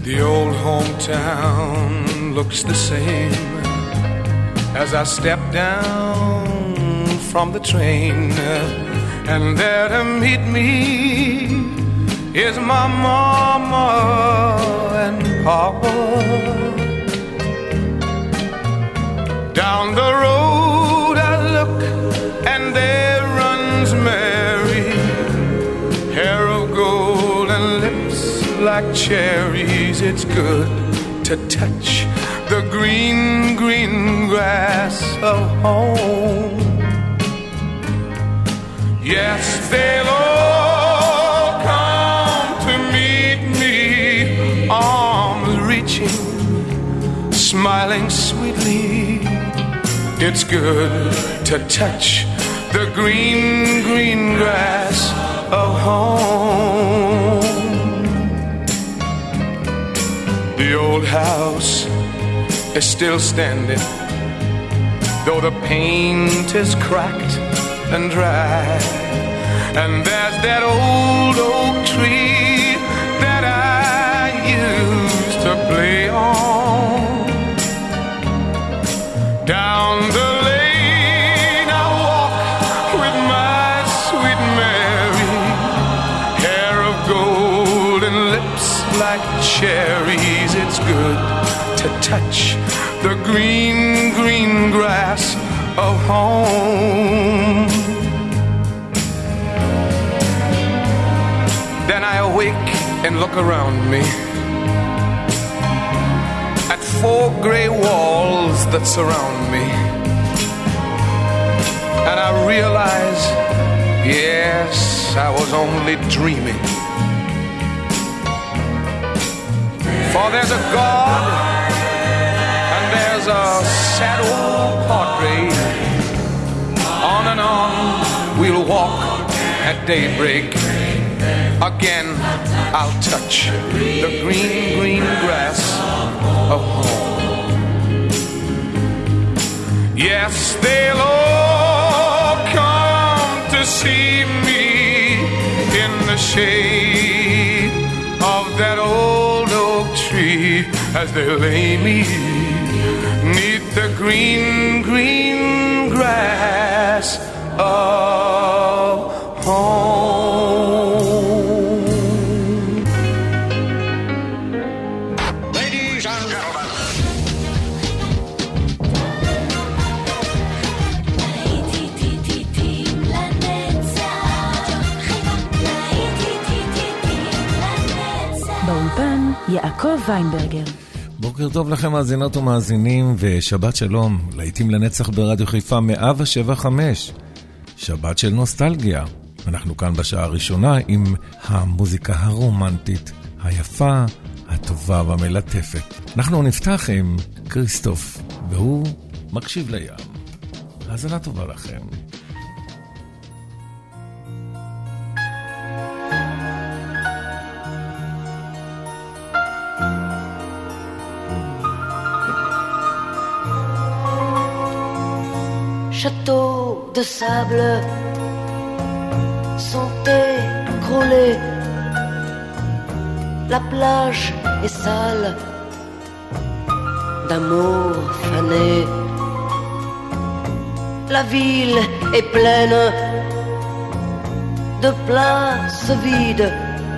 The old hometown looks the same as I step down from the train, and there to meet me is my mama and papa. Down the road I look, and there runs Mary, hair of gold and lips like cherries. It's good to touch the green, green grass of home. Yes, they'll all come to meet me, arms reaching, smiling sweetly. It's good to touch the green, green grass of home. The old house is still standing, though the paint is cracked and dry. And there's that old oak tree that I used to play on. Down the lane I walk with my sweet Mary, hair of gold and lips like cherries. It's good to touch the green, green grass of home. Then I awake and look around me at 4 gray walls that surround me, and I realize, yes, I was only dreaming. For there's a God and there's a sad old portrait. On and on we'll walk at daybreak. Again I'll touch the green, green grass of home. Yes, they'll all come to see me in the shade of that old oak tree as they lay me 'neath the green, green grass of home. Ladies and gentlemen. באולפן יעקב ויינברגר. בוקר טוב לכם מאזינות ומאזינים, ושבת שלום, להיטים לנצח ברדיו חיפה 107.5, שבת של נוסטלגיה. אנחנו כאן בשעה הראשונה עם המוזיקה הרומנטית, היפה, הטובה והמלטפת. אנחנו נפתח עם קריסטוף, והוא מקשיב לים. האזנה טובה לכם. Châteaux de sable sont écroulés, la plage est sale d'amour fané, la ville est pleine de places vides,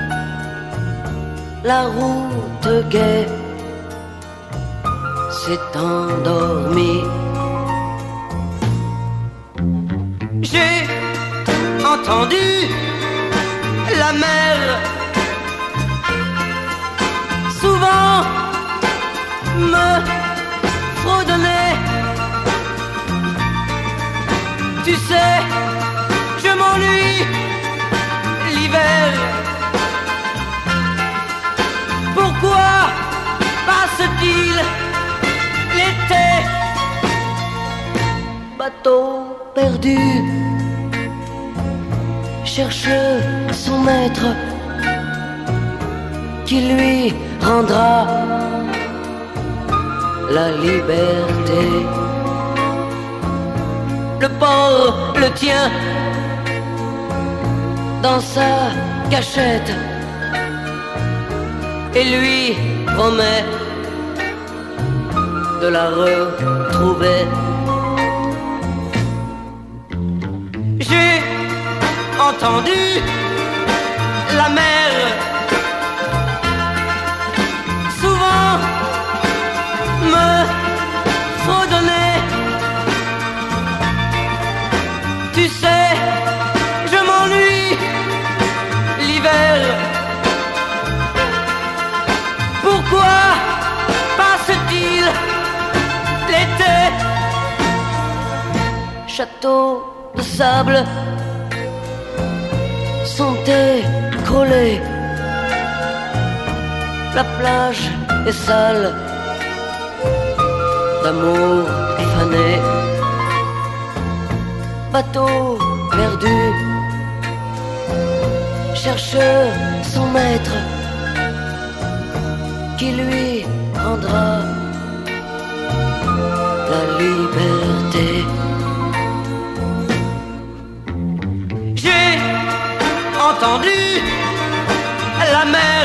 la route gaie s'est endormie. J'ai entendu la mer souvent me fredonner. Tu sais, je m'ennuie l'hiver. Pourquoi passe-t-il l'été? Bateau perdu cherche son maître qui lui rendra la liberté. Le port le tient dans sa cachette. et lui promet de la retrouver. J'ai entendu la mer souvent me fredonner. Tu sais, je m'ennuie l'hiver. Pourquoi passe-t-il l'été? Château de sable sont écroulés. La plage est sale d'amour fané. Bateau perdu cherche son maître qui lui rendra la liberté. J'ai entendu la mer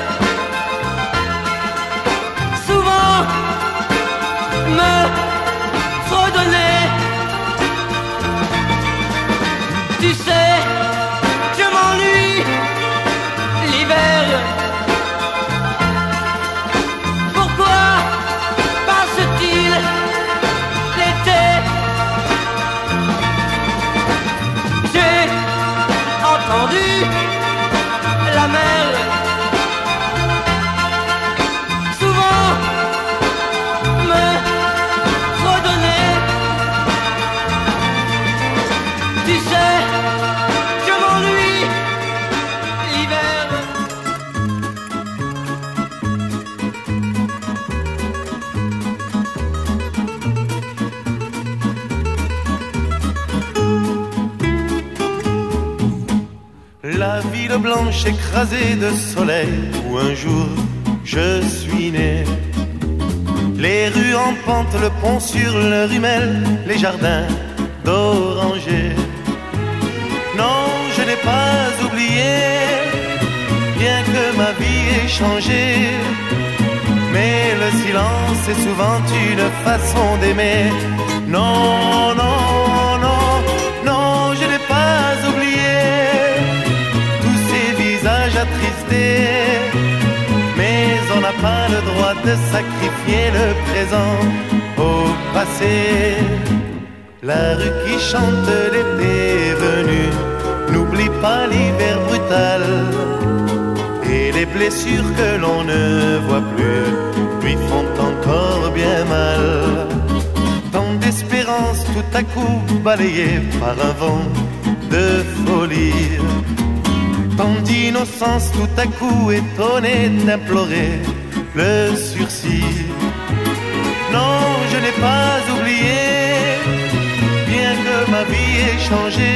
souvent me fredonner. Tu sais, je m'ennuie l'hiver. Pourquoi passe-t-il l'été? J'ai entendu la mer souvent me fredonner. Tu sais, je m'ennuie l'hiver. La ville blanche écrasée de soleil où un jour je suis né. Les rues en pente, le pont sur le Rumel, les jardins d'orangers. Non, je n'ai pas oublié, bien que ma vie ait changé. Mais le silence est souvent une façon d'aimer. Non, non, non, non, je n'ai pas oublié tous ces visages attristés. Mais on n'a pas le droit de sacrifier le présent au passé. La rue qui chante l'été venu n'oublie pas l'hiver brutal. Et les blessures que l'on ne voit plus lui font encore bien mal. Tant d'espérance tout à coup balayée par un vent de folie. Tant d'innocence tout à coup étonnée d'implorer le sursis. Non, je n'ai pas oublié, bien que ma vie ait changé.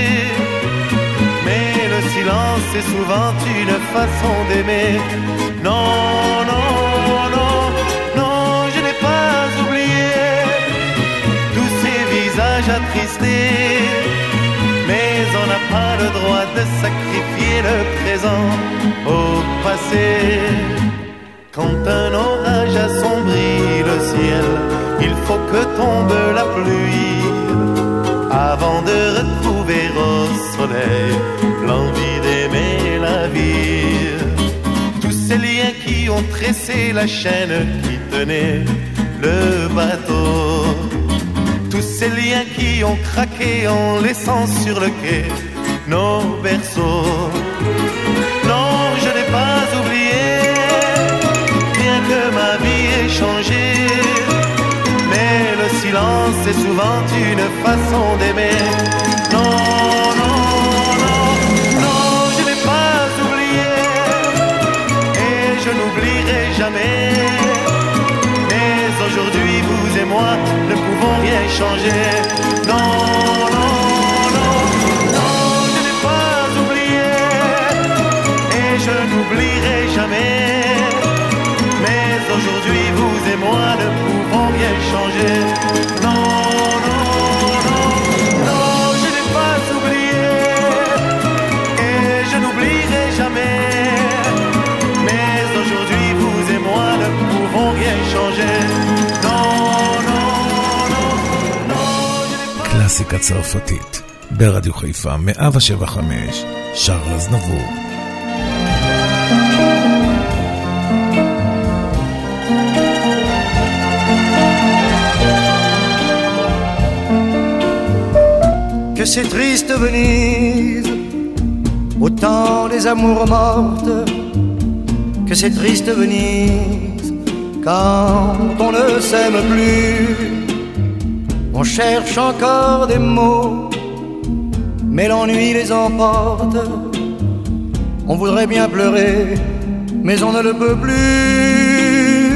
Mais le silence est souvent une façon d'aimer. Non, non, non, non, je n'ai pas oublié tous ces visages attristés. Mais on n'a pas le droit de sacrifier le présent au passé. Quand un orage assombrit le ciel, il faut que tombe la pluie avant de retrouver au soleil l'envie d'aimer la vie. Tous ces liens qui ont tressé la chaîne qui tenait le bateau, tous ces liens qui ont craqué en laissant sur le quai nos berceaux. Non, je n'ai pas oublié, bien que ma vie ait changé. Mais le silence est souvent une façon d'aimer. Non, non, non, non, je n'ai pas oublié et je n'oublierai jamais. Mais aujourd'hui, vous et moi ne pouvons rien changer. Non, non, non, non, je n'ai pas oublié et je n'oublierai jamais. Mais aujourd'hui, vous et moi ne pouvons rien changer. Non, non, non, non, je n'ai pas oublié et je n'oublierai jamais. Mais aujourd'hui, changer. Non, non, non, non, je n'ai pas... קלאסיקה צרפתית, ברדיו חיפה 107.5, שרל אזנבור. Que c'est triste Venise, au temps des amours mortes. Que c'est triste Venise, quand on ne s'aime plus. On cherche encore des mots, mais l'ennui les emporte. On voudrait bien pleurer, mais on ne le peut plus.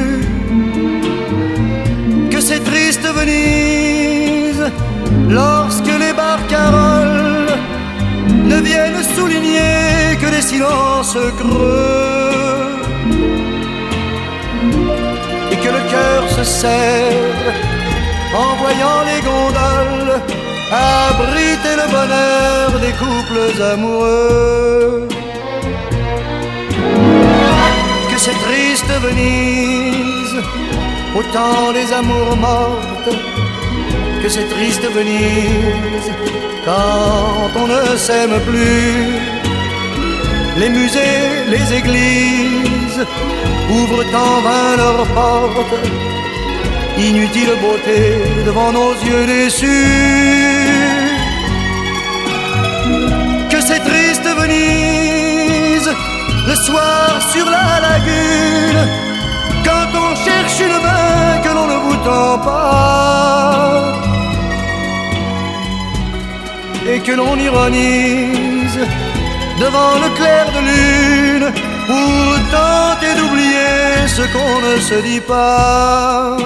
Que c'est triste Venise, lorsque les barcaroles ne viennent souligner que des silences creux, et que le cœur se serre en voyant les gondoles abriter le bonheur des couples amoureux. Que c'est triste Venise, au temps des amours mortes. Que c'est triste Venise, quand on ne s'aime plus. Les musées, les églises ouvrent en vain leurs portes. Inutile beauté devant nos yeux déçus. Que c'est triste Venise, le soir sur la lagune, quand on cherche une main que l'on ne vous tend pas, et que l'on ironise devant le clair de lune pour tenter d'oublier ce qu'on ne se dit pas.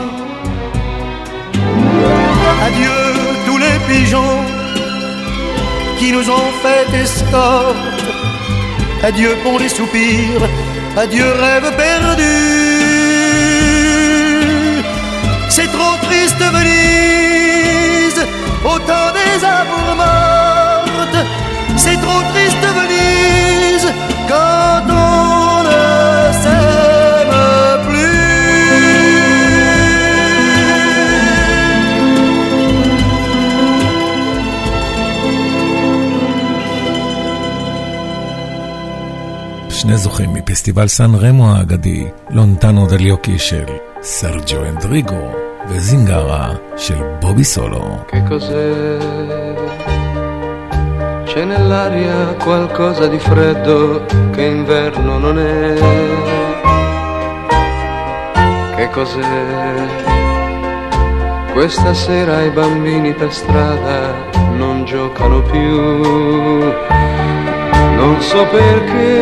Adieu tous les pigeons qui nous ont fait escorte. Adieu pour les soupirs, adieu rêve perdu. C'est trop triste Venise, au temps des amours mortes. C'est trop triste Venise, quand on ne s'aime plus. שני זוכים מפסטיבל סן רמו האגדי, לונטנו דליוקי של סרג'ו אנדריגו וזינגרה של בובי סולו. Che cos'è? C'è nell'aria qualcosa di freddo che inverno non è. Che cos'è? Questa sera i bambini per strada non giocano più. Non so perché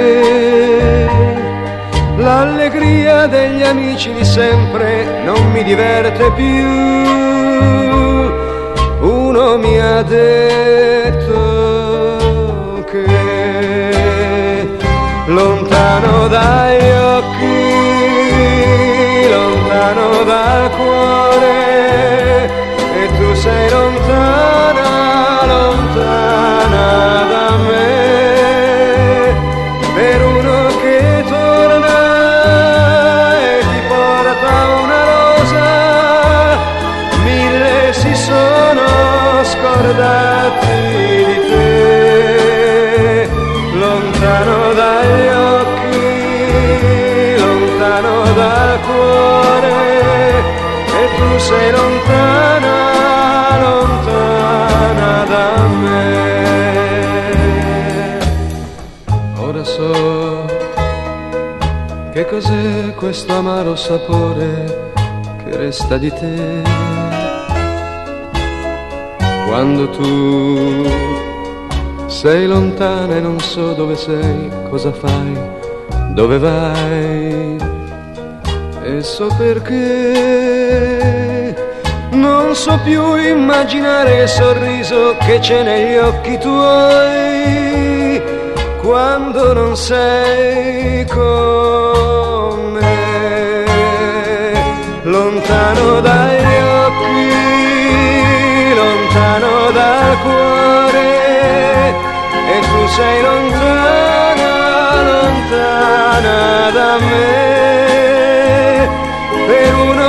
l'allegria degli amici di sempre non mi diverte più. Uno mi ha detto che lontano dagli occhi, lontano dal cuore, e tu sei lontana, lontana da me. Per uno che torna e ti porta una rosa, mille si sono scordati di te. Lontano dagli occhi, lontano dal cuore, e tu sei lontana, lontana da me. Ora so che cos'è questo amaro sapore che resta di te. Quando tu sei lontana e non so dove sei, cosa fai, dove vai. E so perché non so più immaginare il sorriso che c'è negli occhi tuoi quando non sei con me. Lontano dagli occhi, lontano dal cuore, e tu sei lontana, lontana da me. Per uno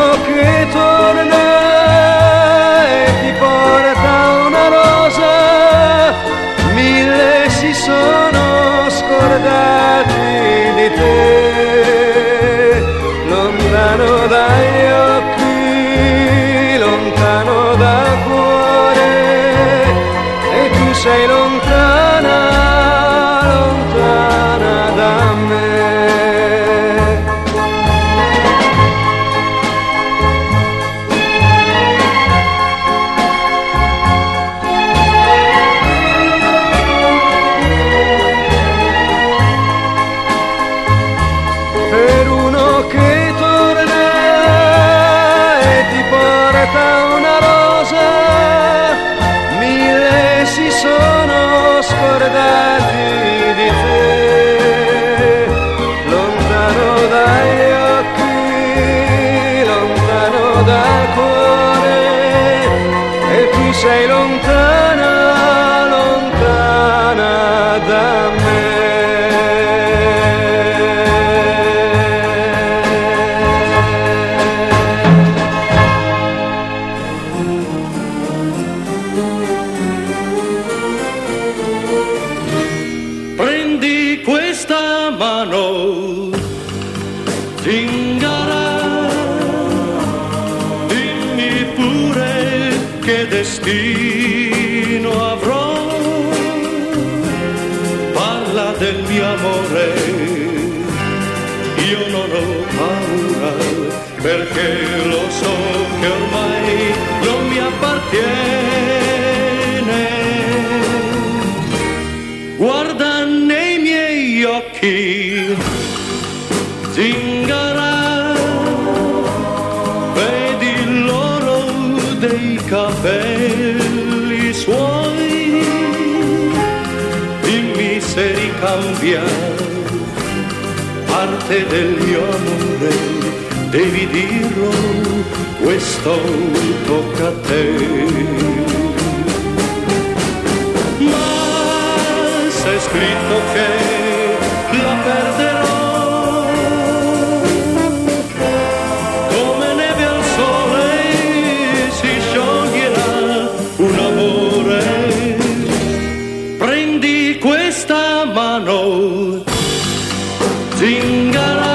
sei lontana, lontana da me. Per uno che torna e ti porta una rosa, mille si sono scordati di te. Lontano dagli occhi, lontano dal cuore, e tu sei lontana, lontana da me. Destino avrò, parla del mio amore, io non ho paura, perché lo so che ormai non mi appartiene. Guarda nei miei occhi, zingara, vedi l'oro dei capelli suoi, dimmi se ricambia parte del mio amore, devi dirlo, questo tocca a te. Ma c'è scritto che la perderò, un amore, prendi questa mano, zingara.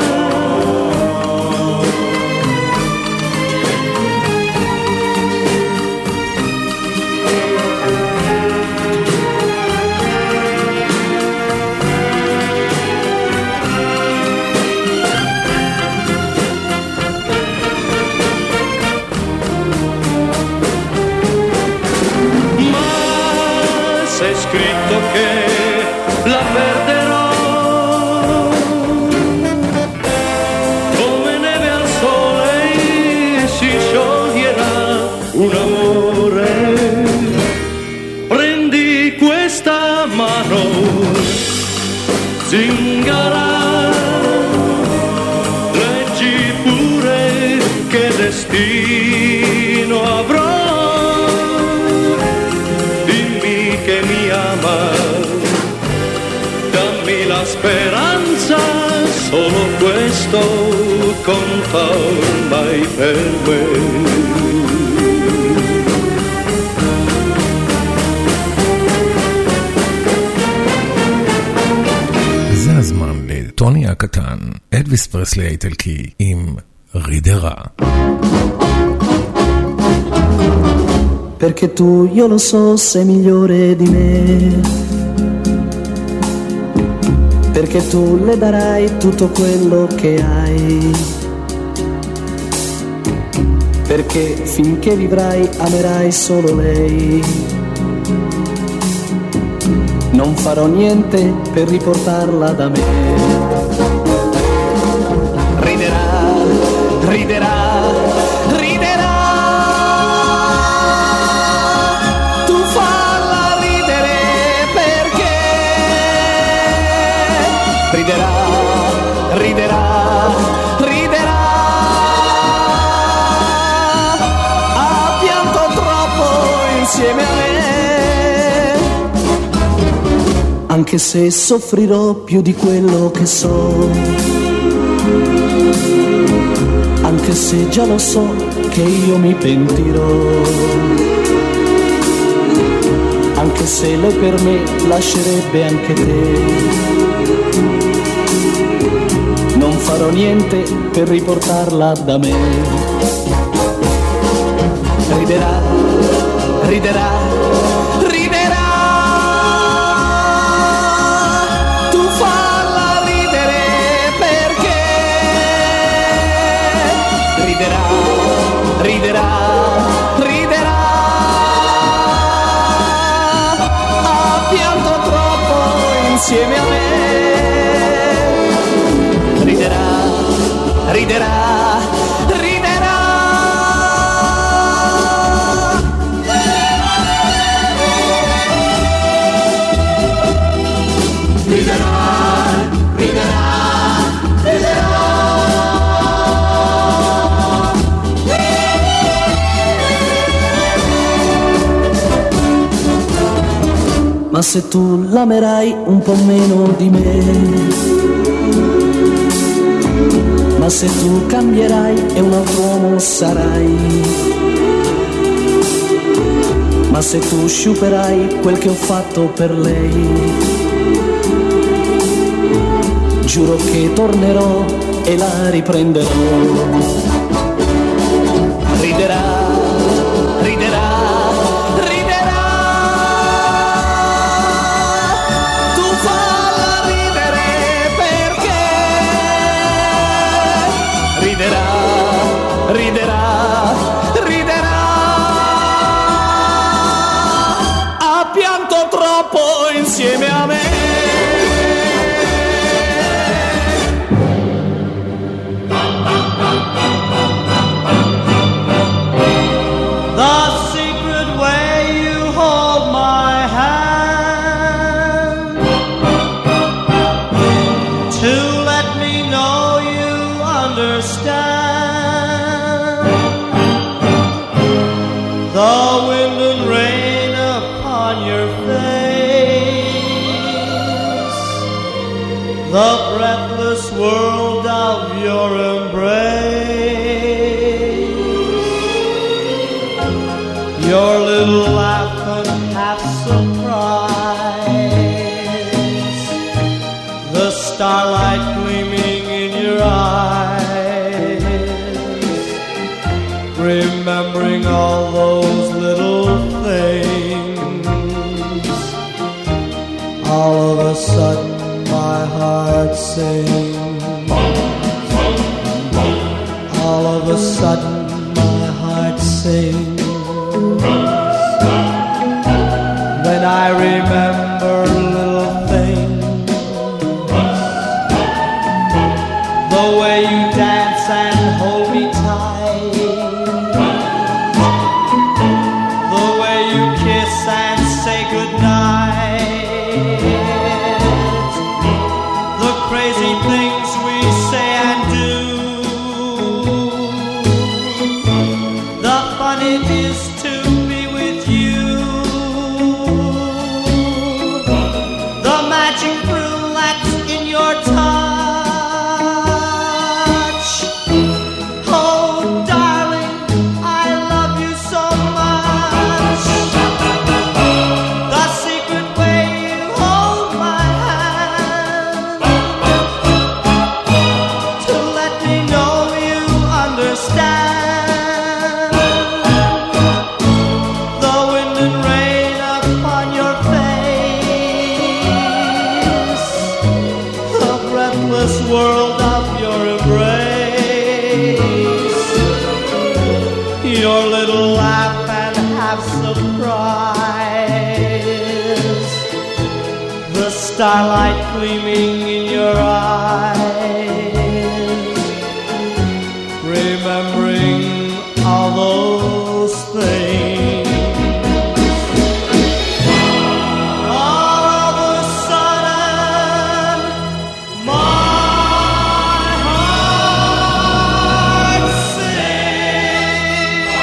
C'è scritto che la perderò, come neve al sole si scioglierà un amore. Prendi questa mano, zingara, leggi pure che destino avrò. Che mi ama, dammi la speranza, solo questo conta ormai per me. זה הזמן לטוני הקטן, אלוויס פרסלי האיטלקי עם רידרה. Perché tu, io lo so, sei migliore di me, perché tu le darai tutto quello che hai, perché finché vivrai amerai solo lei. Non farò niente per riportarla da me. Riderà, riderà, riderà, riderà, ha pianto troppo insieme a me, anche se soffrirò più di quello che so, anche se già lo so che io mi pentirò, anche se lei per me lascerebbe anche te. Non farò niente per riportarla da me. Riderà, riderà, riderà. riderà, riderà, riderà. Ha pianto troppo insieme a me. Riderà, riderà, riderà. Riderà, riderà, riderà. Ma se tu l'amerai un po' meno di me, ma se tu cambierai e un altro uomo sarai, ma se tu sciuperai quel che ho fatto per lei, giuro che tornerò e la riprenderò. Riderà, riderà, riderà. Tu falla ridere perché riderà, riderà, riderà. Ha pianto troppo insieme a me. The breathless world of your embrace, your little laugh and half surprise, the starlight gleaming in your eyes, remembering all those little things, all of a sudden my heart sings. All of a sudden my heart sings. When I remember little things, the way you dance and hold me tight, the way you kiss and say goodnight, crazy things we say and do, the fun it is to be with you, the magic thrill that's in your touch. Oh darling, I love you so much. The secret way you hold my hand, understand. The wind and rain upon your face, the breathless world of your embrace, your little laugh and half surprise, the starlight gleaming in your eyes, remembering all those things. All of a sudden, my heart sings.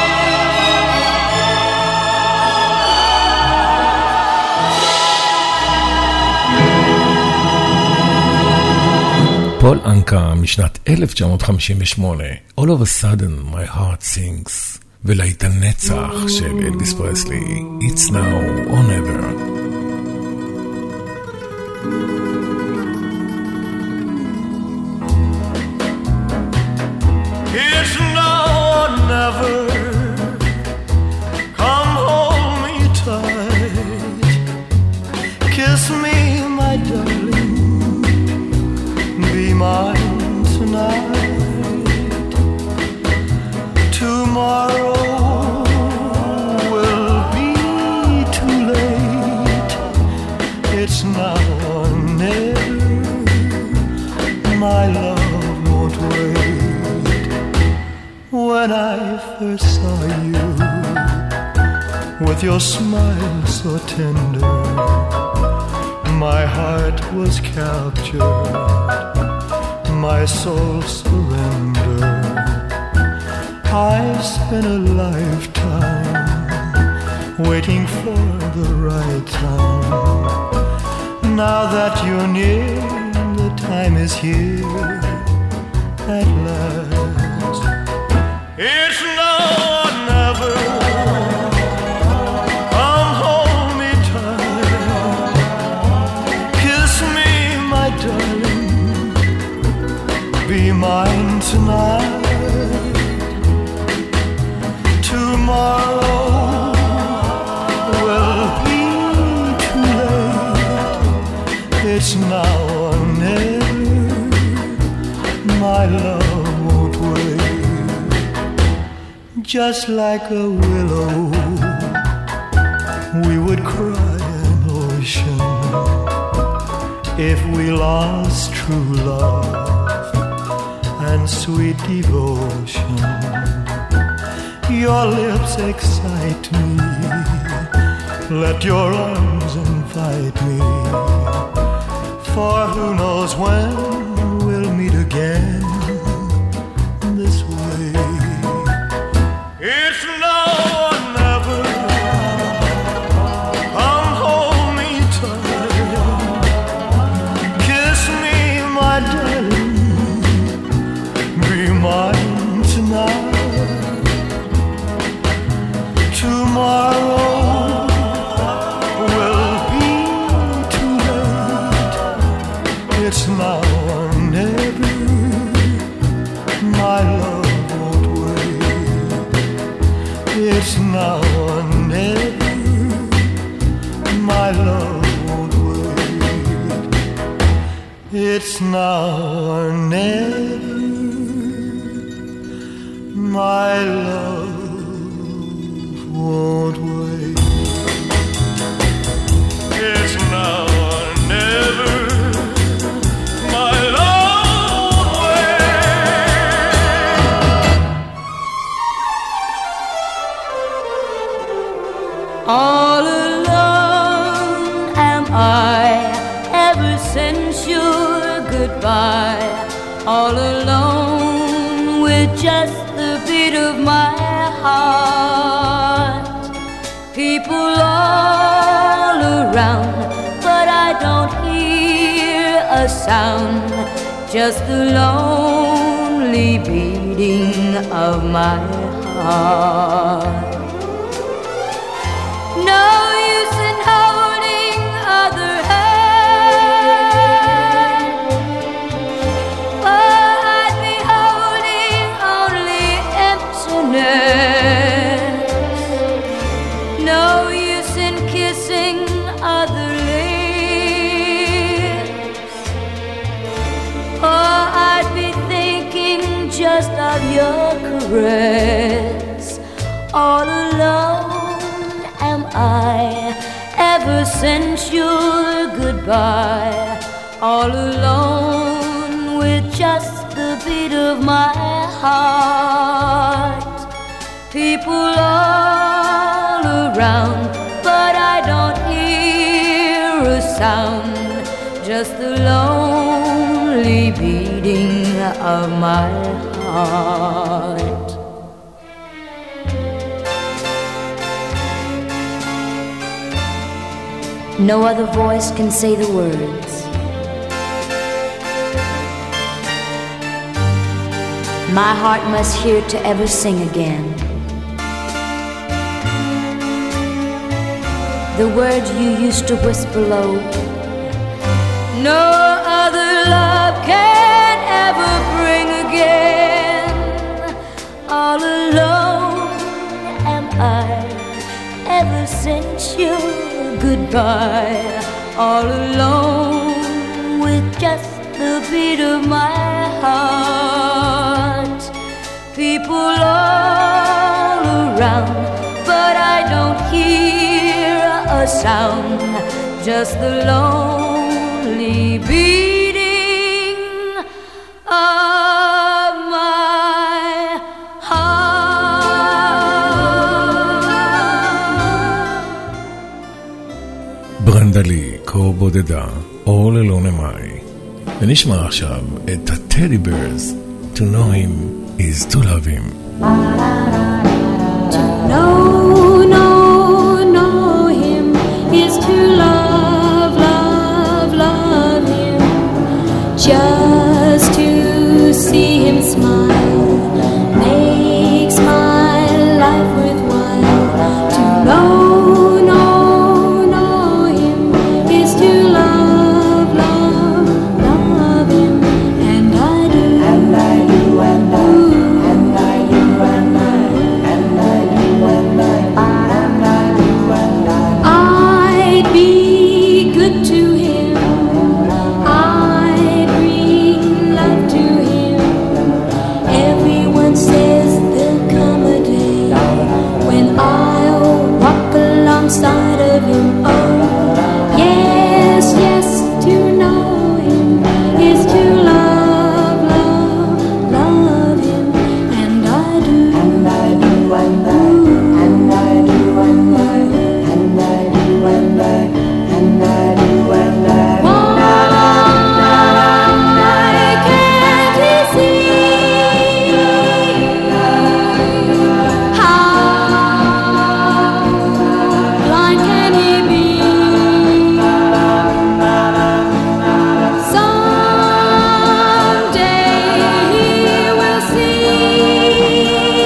פול אנקה משנת 1958, All of a sudden my heart sings, ולהיט הנצח של אלוויס פרסלי, It's now or never. It's now or never. Come hold me tight, kiss me, my darling, be mine tonight. tomorrow will be too late. It's now or never. My love won't wait. When I first saw you, with your smile so tender, my heart was captured, my soul surrendered. I've spent a lifetime waiting for the right time. Now that you're near, the time is here at last. It's now or never. Come hold me tight, kiss me, my darling, be mine tonight. Tomorrow will be too late. It's now or never. My love won't wait. Just like a willow, we would cry an ocean if we lost true love and sweet devotion. Your lips excite me, let your arms invite me, for who knows when we'll meet again this way. It's now or never. Come hold me tight, kiss me, my darling, be mine tonight. Tomorrow will be too late. It's now or never. My love won't wait. It's now or never. My love won't wait. It's now or never. My love won't wait. It's now or never. My love won't wait. All alone am I ever since your goodbye. All alone with just the beat of my heart. People all around, but I don't hear a sound, just the lonely beating of my heart. No use in holding other hands, for I'd be holding only emptiness. No use in kissing other lips, for I'd be thinking just of your caress. All alone am I ever since your goodbye. All alone with just the beat of my heart. People all around, but I don't hear a sound, just the lonely beating of my heart. No other voice can say the words. My heart must hear to ever sing again. The words you used to whisper low. No other love can ever bring again. All alone am I ever since your goodbye. All alone with just the beat of my heart. People all around, but I don't hear a sound, just the lonely beating of my heart. ברנדלי, קור בודדה, All Alone Am I. ונשמע עכשיו את ה-Teddy Bears, To know him is to love him. To know him is to love, love, love him. Just to see him smile makes my life worthwhile. To know him is to love, love, love him. And I do, and I do, and I do, and I do, and I, and I do, and I, and I do, and I. I'd be good to him. I'd bring love to him. Everyone says there'll come a day when I'll walk alongside of him. Oh, yes, yes, to know him is to love, love, love him. And I do, and I do, and I, and I do, and I, and I do, and I, and I do, and I. Why can't he see? How blind can he be? Someday he will see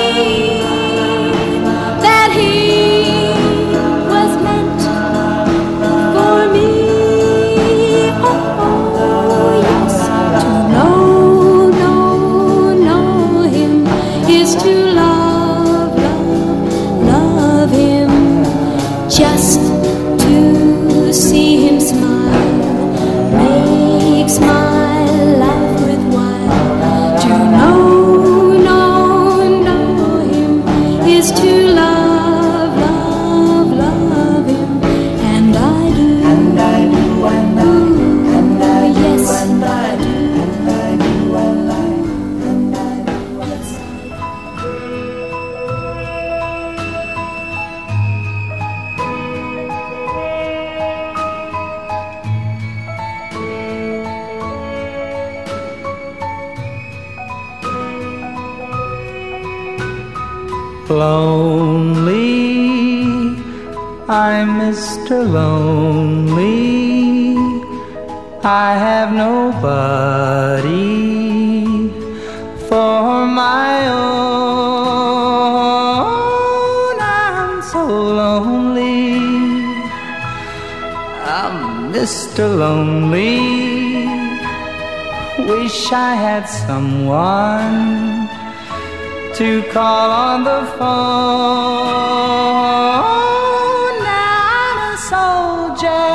that he was meant for me. Oh, yes, to know him is to love, love, love him. Just to see him smile makes my life worthwhile. To know him is to love, love, love him. And I do, and I do, and I, and I do, yes, and I do, and I do, and I, and I do, yes, I do. Lonely, I'm Mr. Lonely. I have nobody for my own. I'm so lonely. I'm Mr. Lonely. Wish I had someone to call on the phone. I'm a soldier,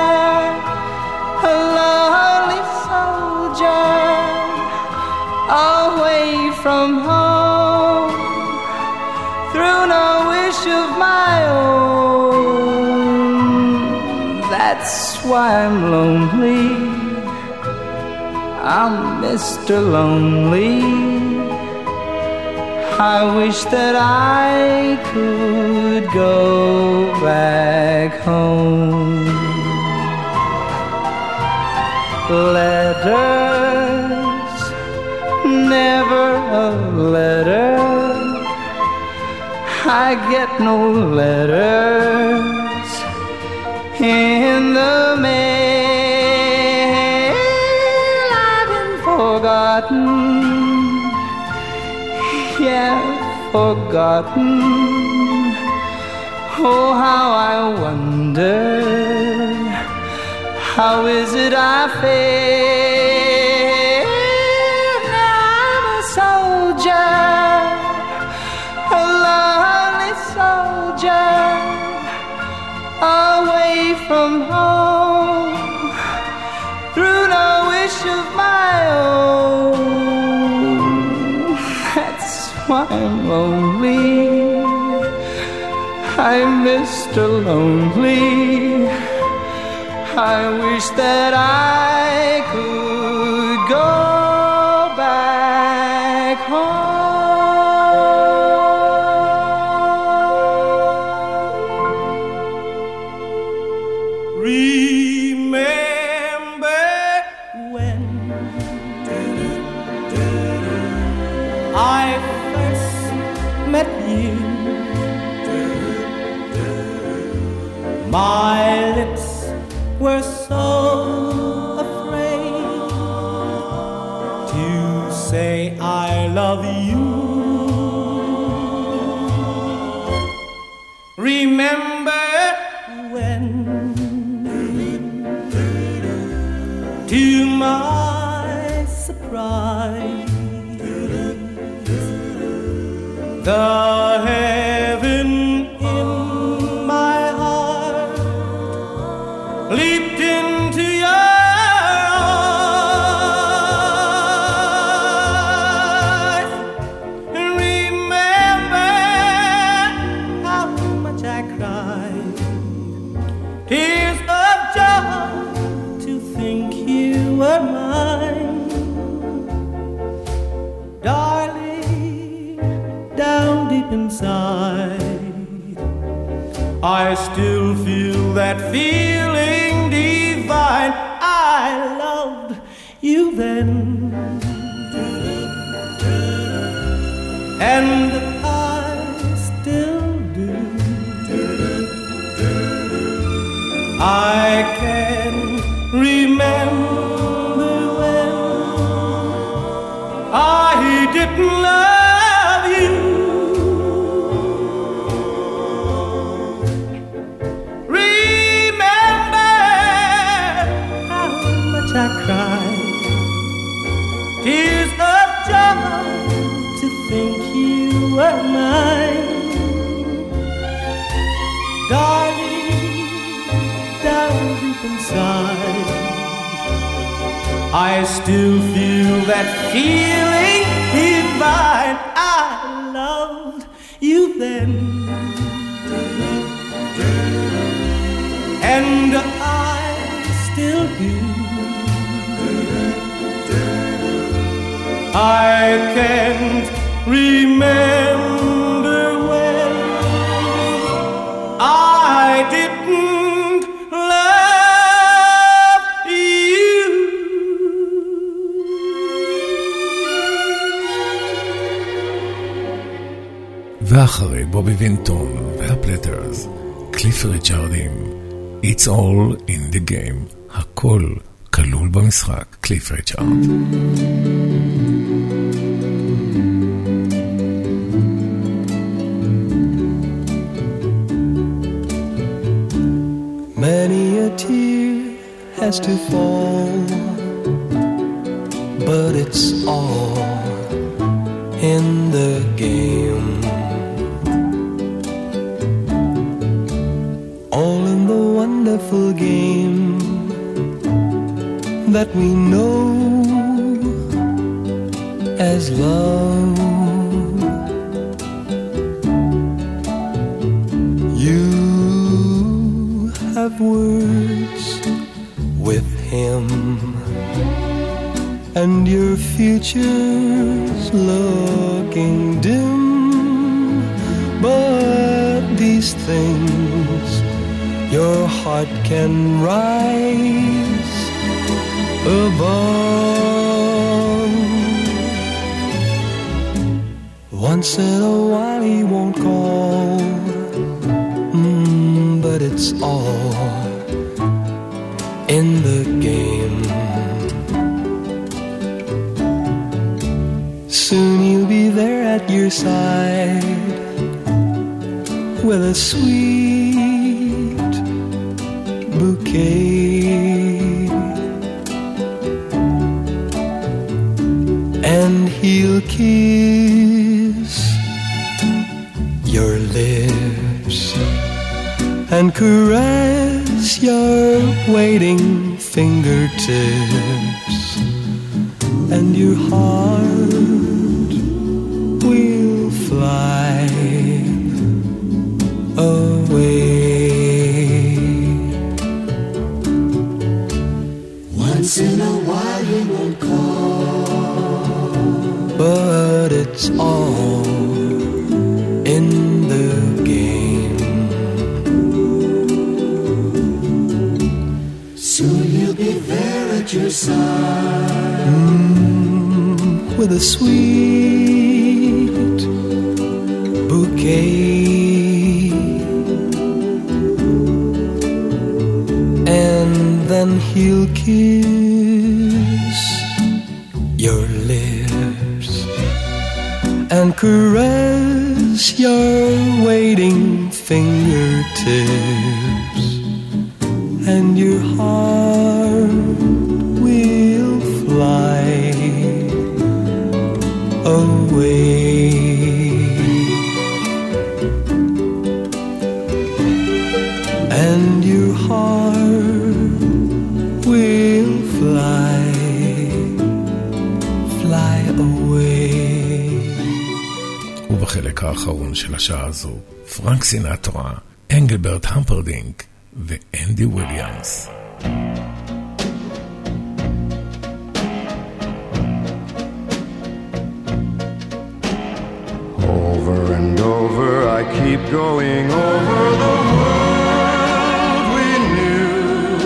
a lonely soldier, away from home, through no wish of my own. That's why I'm lonely. I'm Mr. Lonely. I wish that I could go back home. Letters, never a letter. I get no letters in the mail. I've been forgotten, yeah, forgotten. Oh, how I wonder, how is it I feel? Now I'm a soldier, a lonely soldier, away from home, through no wish of my own. That's why I'm lonely. I'm Mr. Lonely. I wish that I could go back home. Remember when I first met you? My lips were so afraid to say I love you. Remember when, to my surprise, the heaven in my heart leaped into your eyes. Remember how much I cried, tears of joy to think you were mine. Darling, down deep inside, I still feel that feeling divine. I loved you then, and I still do. I can remember when I didn't love you. I cried, tears of joy to think you were mine. Darling, down deep inside, I still feel that feeling divine. I loved you then, and I still do. I can't remember when I didn't love you. ואחרי בובי וינטון והפלטרס, קליף ריצ'רדים, It's all in the game, הכל כלול במשחק, קליף ריצ'רד. Many a tear has to fall, but it's all in the game. All in the wonderful game that we know as love. You have words with him, and your future's looking dim. But these things your heart can rise above. Once in a while he won't call, but it's all in the game. Soon he'll be there at your side with a sweet bouquet, and he'll kiss your lips and caress your waiting fingertips, and your heart will fly away. in the game. Soon you'll be there at your side, with a sweet bouquet, and then he'll kiss your lips and caress your waiting fingertips, and your heart will fly away. And your heart will fly away. ובחלק האחרון של השעה הזו, פרנק סינטרה, אנגלברט המפרדינק ואנדי וויליאמס. Over and over I keep going over the world we knew.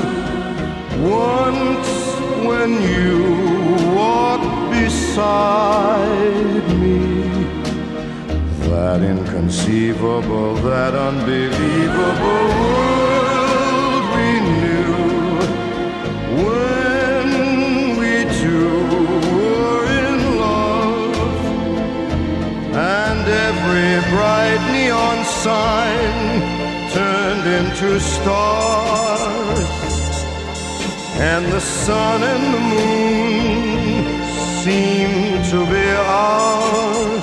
Once when you walked beside me, that inconceivable, that unbelievable world we knew. When we two were in love, and every bright neon sign turned into stars, and the sun and the moon seemed to be ours.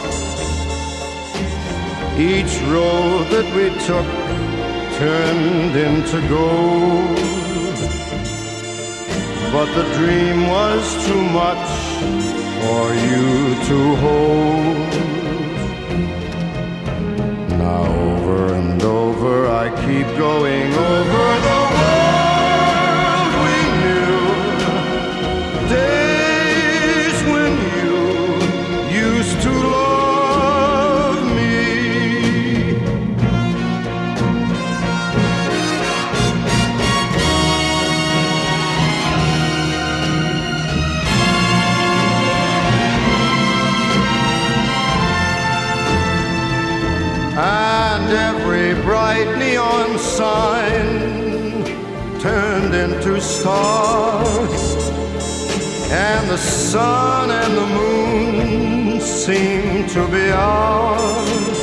Each road that we took turned into gold, but the dream was too much for you to hold. Now over and over I keep going over the world we knew. Days when you used to love me. And every bright neon sign turned into stars, and the sun and the moon seemed to be ours.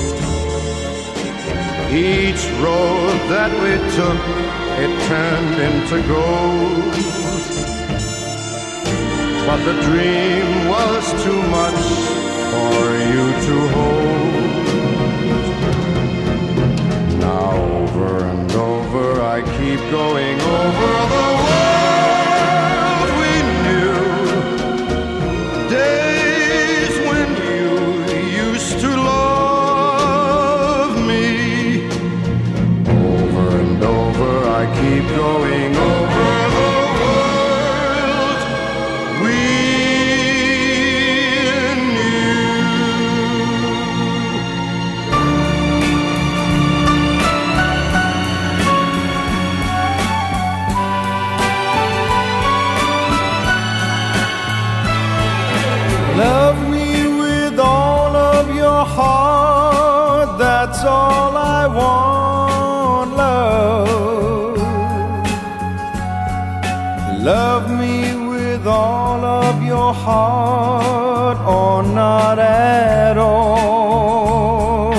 Each road that we took, it turned into gold, but the dream was too much for you to hold. Now over and over I keep going over the world we knew. Days when you used to love me. Over and over I keep going over the world we Love me with all of your heart, that's all I want, love. Love me with all of your heart, or not at all.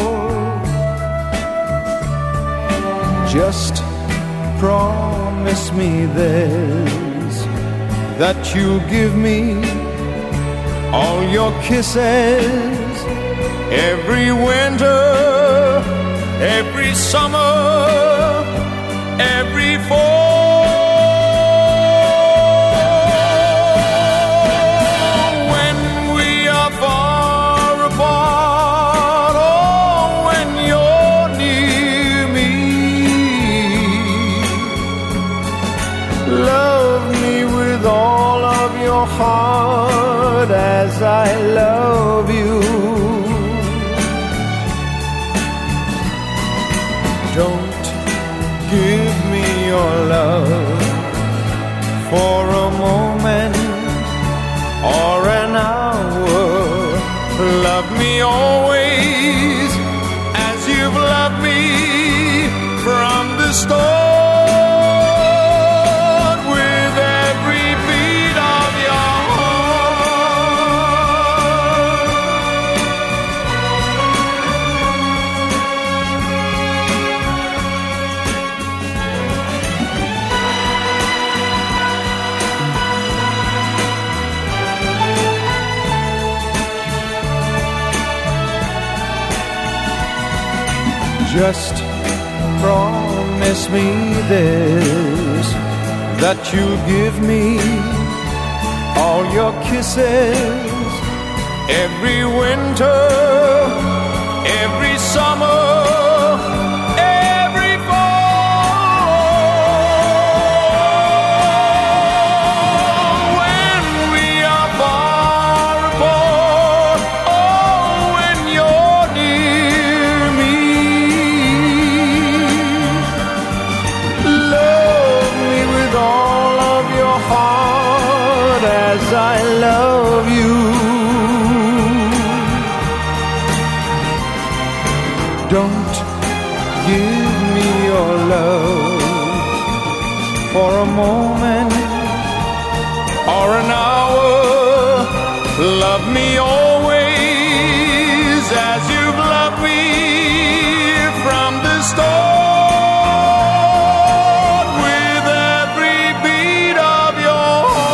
Just promise me this, that you'll give me all your kisses, every winter, every summer, every fall. When we are far apart, or when you're near me, love me with all of your heart as I love you. start with every beat of your Just promise me this, that you'll give me all your kisses every winter, every summer, every fall. When we are far apart, oh, when you're near me, love me with all of your heart as I love you. Don't give me your love for a moment or an hour. Love me always as you've loved me from the start, with every beat of your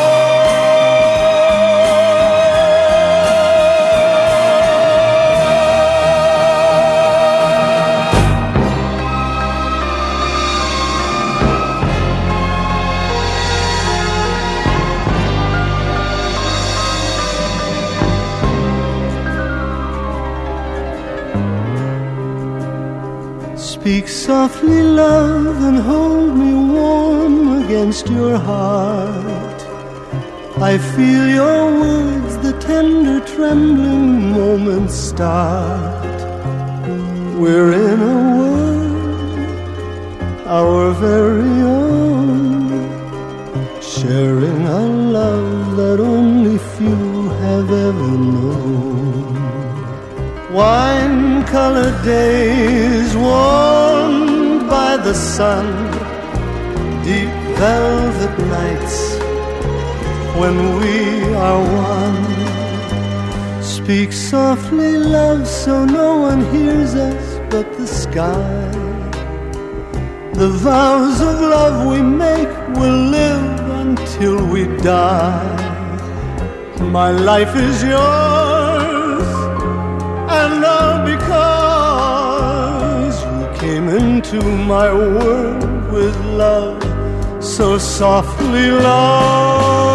Speak softly, love, and hold me warm against your heart. I feel your words, the tender trembling moments start. We're in a world, our very own, sharing a love that only few have ever known. Wine-colored days warmed by the sun, deep velvet nights when we are one. Speak softly, love, so no one hears us but the sky. The vows of love we make will live until we die. My life is yours, and all because you came into my world with love, so softly, love.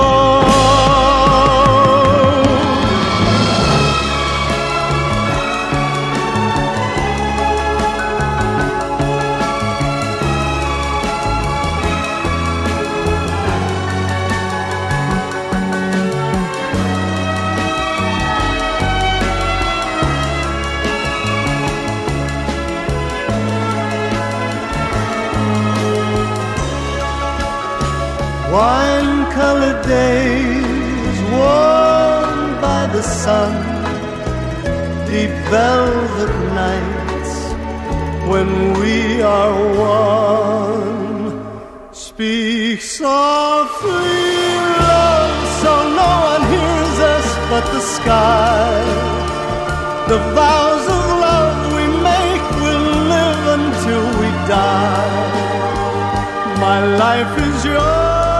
Wine-colored days warmed by the sun, deep velvet nights when we are one. Speak softly, love, so no one hears us but the sky. The vows of love we make will live until we die. My life is yours,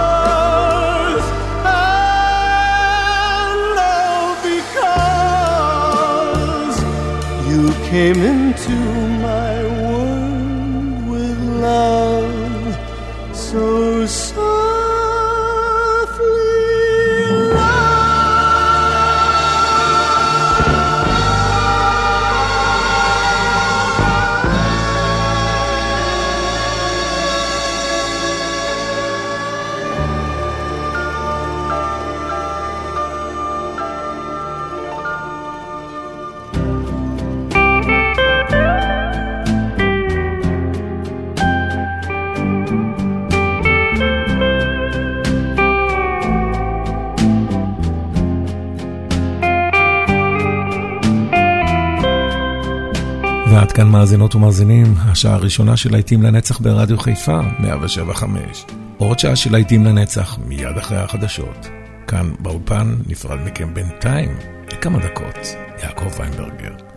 you came into my world with love, so softly, ועד כאן מאזינות ומאזינים, השעה הראשונה של להיטים לנצח ברדיו חיפה, 107.5. עוד שעה של להיטים לנצח, מיד אחרי החדשות. כאן באולפן נפרד מכם בינתיים, לכמה דקות, יעקב ויינברגר.